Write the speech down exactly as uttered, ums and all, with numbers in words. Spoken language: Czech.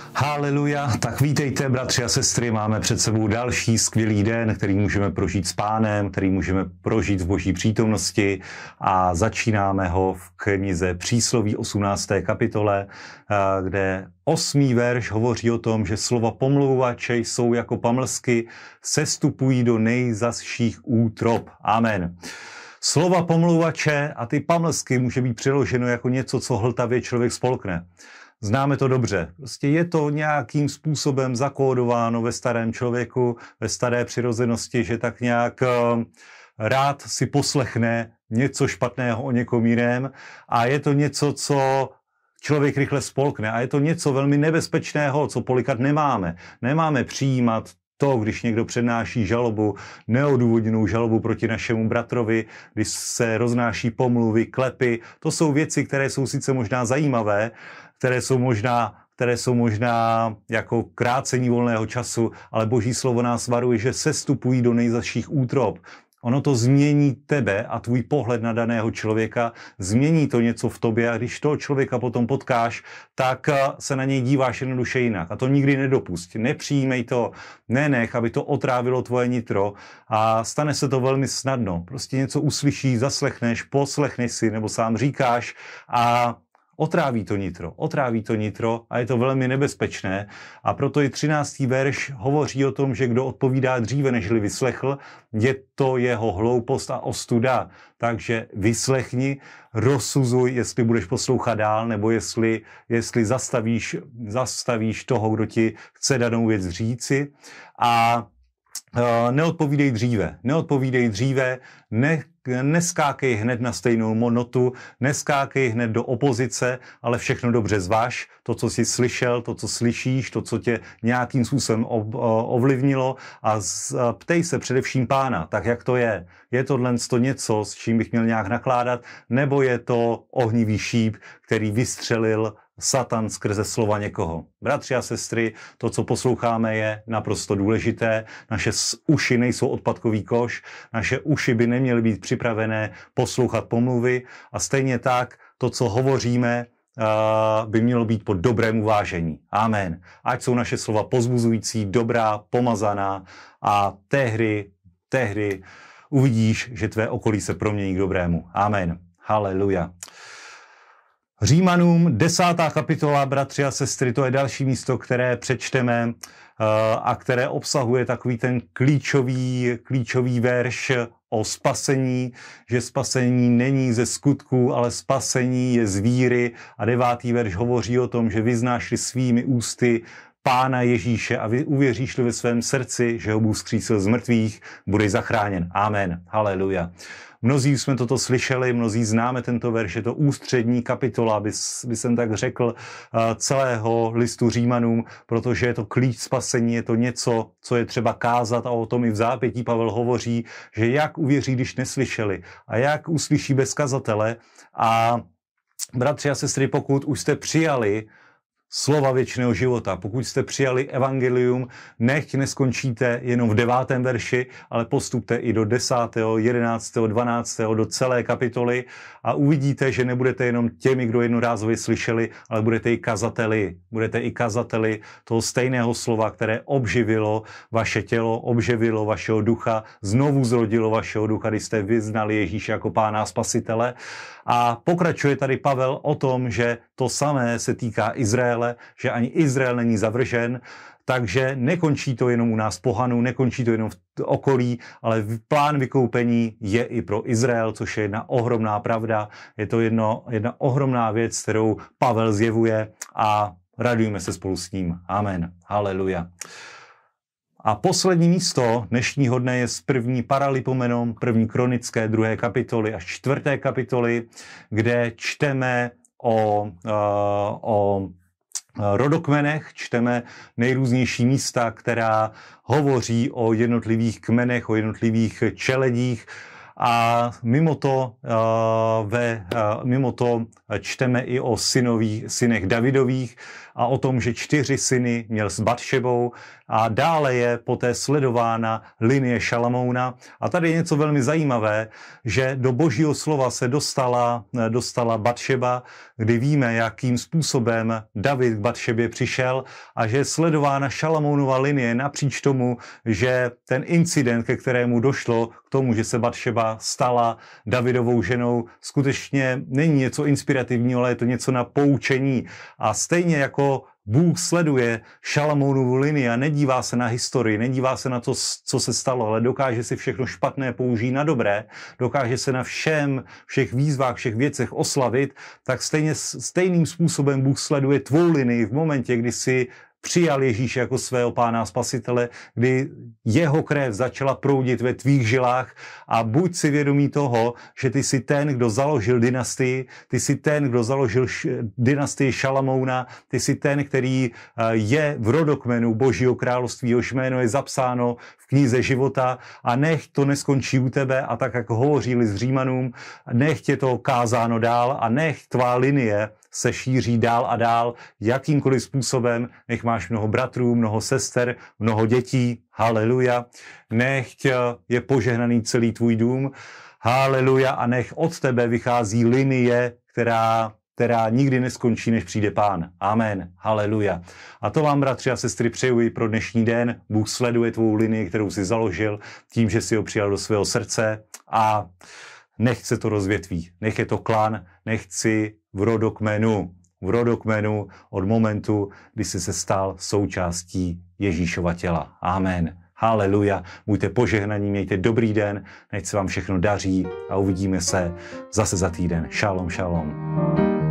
Haleluja, tak vítejte, bratři a sestry, máme před sebou další skvělý den, který můžeme prožít s Pánem, který můžeme prožít v Boží přítomnosti a začínáme ho v knize Přísloví osmnácté kapitole, kde osmý verš hovoří o tom, že slova pomlouvače jsou jako pamlsky, sestupují do nejzazších útrob. Amen. Slova pomlouvače a ty pamlsky může být přeloženo jako něco, co hltavě člověk spolkne. Známe to dobře. Prostě je to nějakým způsobem zakódováno ve starém člověku, ve staré přirozenosti, že tak nějak uh, rád si poslechne něco špatného o někom jiném a je to něco, co člověk rychle spolkne a je to něco velmi nebezpečného, co polikat nemáme. Nemáme přijímat to, když někdo přednáší žalobu, neodůvodněnou žalobu proti našemu bratrovi, když se roznáší pomluvy, klepy. To jsou věci, které jsou sice možná zajímavé, které jsou možná, které jsou možná jako krácení volného času, ale Boží slovo nás varuje, že sestupují do nejzazších útrob. Ono to změní tebe a tvůj pohled na daného člověka, změní to něco v tobě a když toho člověka potom potkáš, tak se na něj díváš jednoduše jinak. A to nikdy nedopusť. Nepřijímej to, nenech, aby to otrávilo tvoje nitro a stane se to velmi snadno. Prostě něco uslyšíš, zaslechneš, poslechneš si nebo sám říkáš a otráví to nitro, otráví to nitro a je to velmi nebezpečné a proto i třináctý verš hovoří o tom, že kdo odpovídá dříve, nežli vyslechl, je to jeho hloupost a ostuda. Takže vyslechni, rozsuzuj, jestli budeš poslouchat dál, nebo jestli, jestli zastavíš, zastavíš toho, kdo ti chce danou věc říci a Uh, neodpovídej dříve, neodpovídej dříve, ne, neskákej hned na stejnou notu, neskákej hned do opozice, ale všechno dobře zvaž, to, co jsi slyšel, to, co slyšíš, to, co tě nějakým způsobem ov, ovlivnilo a z, ptej se především Pána, tak jak to je. Je tohle něco, s čím bych měl nějak nakládat, nebo je to ohnivý šíp, který vystřelil Satan skrze slova někoho. Bratři a sestry, to, co posloucháme, je naprosto důležité. Naše uši nejsou odpadkový koš, naše uši by neměly být připravené poslouchat pomluvy a stejně tak to, co hovoříme, by mělo být pod dobrém uvážení. Amen. Ať jsou naše slova pozbuzující, dobrá, pomazaná a tehdy, tehdy uvidíš, že tvé okolí se promění k dobrému. Amen. Haleluja. Římanům desátá kapitola, bratři a sestry, to je další místo, které přečteme a které obsahuje takový ten klíčový, klíčový verš o spasení, že spasení není ze skutků, ale spasení je z víry a devátý verš hovoří o tom, že vyznáš-li svými ústy Pána Ježíše a vy uvěříš-li ve svém srdci, že ho Bůh vzkřísil z mrtvých, budeš zachráněn. Amen. Haleluja. Mnozí jsme toto slyšeli, mnozí známe tento verš, je to ústřední kapitola, by, by jsem tak řekl, celého listu Římanům, protože je to klíč spasení, je to něco, co je třeba kázat a o tom i v zápětí Pavel hovoří, že jak uvěří, když neslyšeli a jak uslyší bez kazatele a bratři a sestry, pokud už jste přijali slova věčného života. Pokud jste přijali evangelium, nechť neskončíte jenom v devátém verši, ale postupte i do desátého, jedenáctého, dvanáctého, do celé kapitoly a uvidíte, že nebudete jenom těmi, kdo jednorázově slyšeli, ale budete i kazateli. Budete i kazateli toho stejného slova, které obživilo vaše tělo, obživilo vašeho ducha, znovu zrodilo vašeho ducha, když jste vyznali Ježíše jako Pána a Spasitele. A pokračuje tady Pavel o tom, že to samé se týká Izraele, že ani Izrael není zavržen, takže nekončí to jenom u nás pohanů, nekončí to jenom v okolí, ale plán vykoupení je i pro Izrael, což je jedna ohromná pravda. Je to jedno, jedna ohromná věc, kterou Pavel zjevuje a radujeme se spolu s ním. Amen. Haleluja. A poslední místo dnešního dne je z první Paralipomenon, první kronické, druhé kapitoly až čtvrté kapitoly, kde čteme o, uh, o rodokmenech, čteme nejrůznější místa, která hovoří o jednotlivých kmenech, o jednotlivých čeledích a mimo to, uh, ve, uh, mimo to čteme i o synových, synech Davidových a o tom, že čtyři syny měl s Batšebou a dále je poté sledována linie Šalamouna. A tady je něco velmi zajímavé, že do Božího slova se dostala, dostala Batšeba, kdy víme, jakým způsobem David k Batšebě přišel a že je sledována Šalamounova linie napříč tomu, že ten incident, ke kterému došlo, k tomu, že se Batšeba stala Davidovou ženou, skutečně není něco inspirativního, ale je to něco na poučení. A stejně jako Bůh sleduje Šalamounovu linii a nedívá se na historii, nedívá se na to, co se stalo, ale dokáže si všechno špatné použít na dobré, dokáže se na všem, všech výzvách, všech věcech oslavit, tak stejně, stejným způsobem Bůh sleduje tvou linii v momentě, kdy si přijal Ježíše jako svého pána a spasitele, kdy jeho krev začala proudit ve tvých žilách a buď si vědomý toho, že ty jsi ten, kdo založil dynastii, ty jsi ten, kdo založil dynastii Šalamouna, ty jsi ten, který je v rodokmenu Božího království, jehož jméno je zapsáno v knize života a nech to neskončí u tebe a tak, jak hovořili s Římanům, nech tě to kázáno dál a nech tvá linie se šíří dál a dál, jakýmkoliv způsobem, nech máš mnoho bratrů, mnoho sester, mnoho dětí, haleluja, nech je požehnaný celý tvůj dům, haleluja, a nech od tebe vychází linie, která, která nikdy neskončí, než přijde Pán. Amen, haleluja. A to vám, bratři a sestry, přeju i pro dnešní den. Bůh sleduje tvou linii, kterou jsi založil, tím, že jsi ho přijal do svého srdce a nech se to rozvětví, nech je to klan, nech si v rodokmenu, v rodokmenu od momentu, kdy jsi se stal součástí Ježíšova těla. Amen. Haleluja. Buďte požehnaní, mějte dobrý den, nech se vám všechno daří a uvidíme se zase za týden. Šalom, šalom.